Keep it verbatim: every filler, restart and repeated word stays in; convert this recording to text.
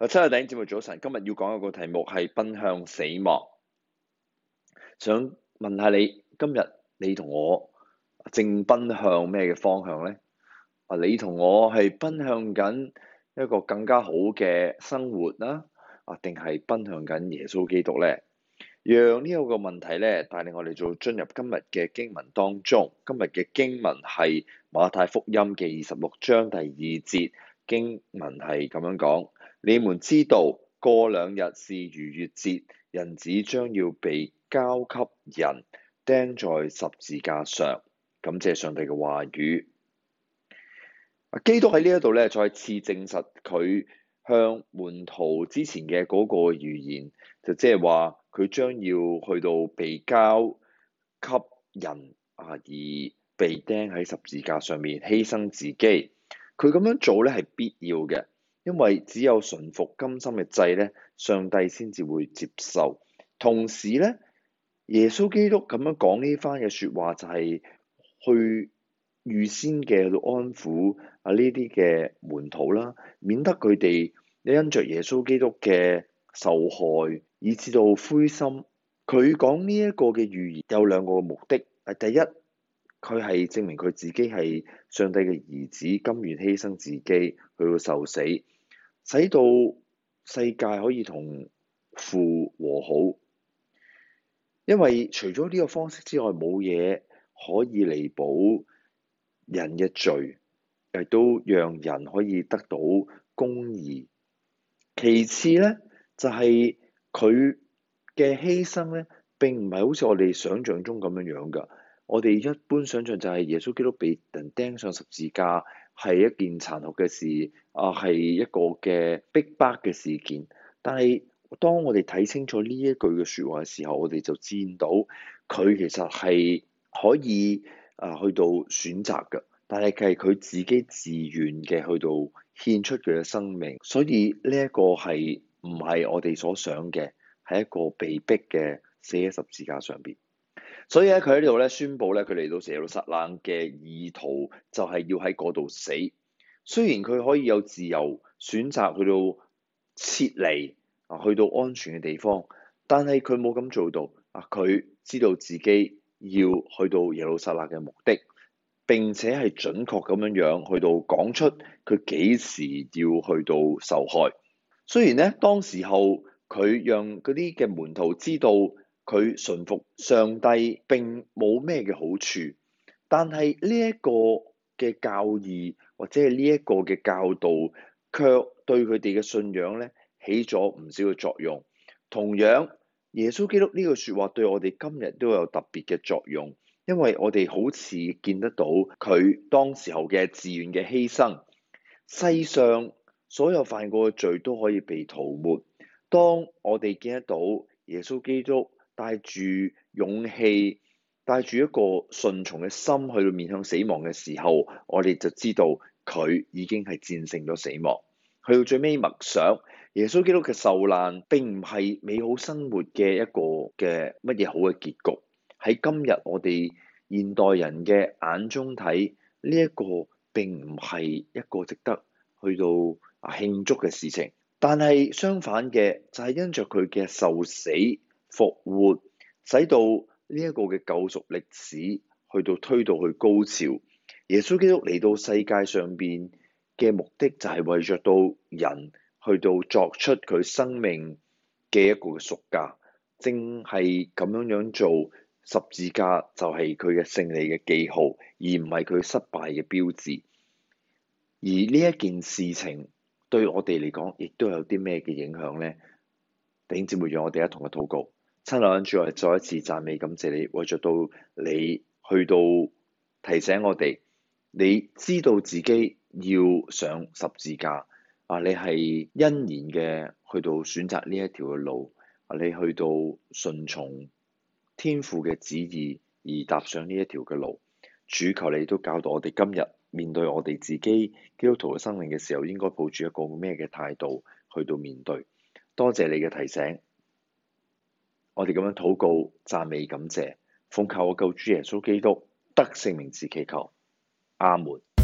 啊，親愛的弟兄姊妹早晨，今日要講一個題目係奔向死亡。想問下你，今日你同我正奔向咩嘅方向呢？啊，你同我係奔向緊一個更加好嘅生活啦，啊，定係奔向緊耶穌基督呢？讓呢個個問題咧帶領我哋做進入今日嘅經文當中。今日嘅經文係馬太福音嘅二十六章第二節，經文係咁樣講：你們知道，過兩日是逾越節，人子將要被交給人，釘在十字架上。感謝上帝嘅話語。基督喺呢一度咧，再次證實佢向門徒之前嘅嗰個預言，就即係話佢將要去到被交給人啊，而被釘喺十字架上面犧牲自己。佢咁樣做咧係必要嘅，因為只有順服甘心嘅祭咧，上帝先至會接受。同時咧，耶穌基督咁樣講呢番嘅説話，就係去預先嘅去到安撫啊呢啲嘅門徒啦，免得佢哋因着耶穌基督嘅受害，以致到灰心。佢講呢一個嘅預言有兩個目的。第一，佢係證明佢自己係上帝嘅兒子，甘願犧牲自己去到受死，使到世界可以同父和好。因為除咗呢個方式之外，冇嘢可以彌補人嘅罪，亦都讓人可以得到公義。其次咧，就係佢嘅犧牲咧，並唔係好似我哋想象中咁樣樣噶。我哋一般想象就係耶穌基督被人釘上十字架係一件殘酷嘅事，啊係一個嘅逼迫嘅事件。但係當我哋睇清楚呢一句嘅説話嘅時候，我哋就見到佢其實係可以啊去到選擇嘅，但係佢係佢自己自願嘅去到獻出佢嘅生命，所以呢一個係唔係我哋所想嘅，係一個被逼嘅死喺十字架上邊。所以咧，佢喺呢度咧宣佈咧，佢嚟到耶路撒冷嘅意圖就係要喺嗰度死。雖然佢可以有自由選擇去到撤離啊，去到安全嘅地方，但係佢冇咁做到啊。佢知道自己要去到耶路撒冷嘅目的，並且係準確咁樣樣去到講出佢幾時要去到受害。雖然咧，當時候佢讓嗰啲嘅門徒知道佢順服上帝並冇咩嘅好處，但係呢一個嘅教義或者係呢一個嘅教導，卻對佢哋嘅信仰咧起咗唔少嘅作用。同樣，耶穌基督呢句説話對我哋今日都有特別嘅作用，因為我哋好似見得到佢當時候嘅自願嘅犧牲，世上所有犯過嘅罪都可以被塗抹。當我哋見得到耶穌基督帶住勇氣，帶住一個順從嘅心去到面向死亡嘅時候，我哋就知道佢已經係戰勝咗死亡。去到最尾默想，耶穌基督嘅受難並唔係美好生活嘅一個嘅乜嘢好嘅結局。喺今日我哋現代人嘅眼中睇，呢一個並唔係一個值得去到啊慶祝嘅事情。但係相反嘅就係因着佢嘅受死復活，使到呢一個嘅救贖歷史去到推到去高潮。耶穌基督嚟到世界上邊嘅目的就係為着到人去到作出佢生命嘅一個嘅贖價，正係咁樣樣做，十字架就係佢嘅勝利嘅記號，而唔係佢失敗嘅標誌。而呢一件事情對我哋嚟講，亦都有啲咩嘅影響呢？弟兄姊妹，讓我哋一同嘅禱告。親愛嘅主，我哋再一次讚美感謝你，為著到你去到提醒我哋，你知道自己要上十字架啊！你係欣然嘅去到選擇呢一條嘅路啊！你去到順從天父嘅旨意而踏上呢一條嘅路。主，求你都教導我哋今日面對我哋自己基督徒嘅生命嘅時候，應該抱住一個咩嘅態度去到面對。多謝你嘅提醒，我哋咁樣禱告、讚美、感謝，奉靠我救主耶穌基督得勝名字祈求，阿門。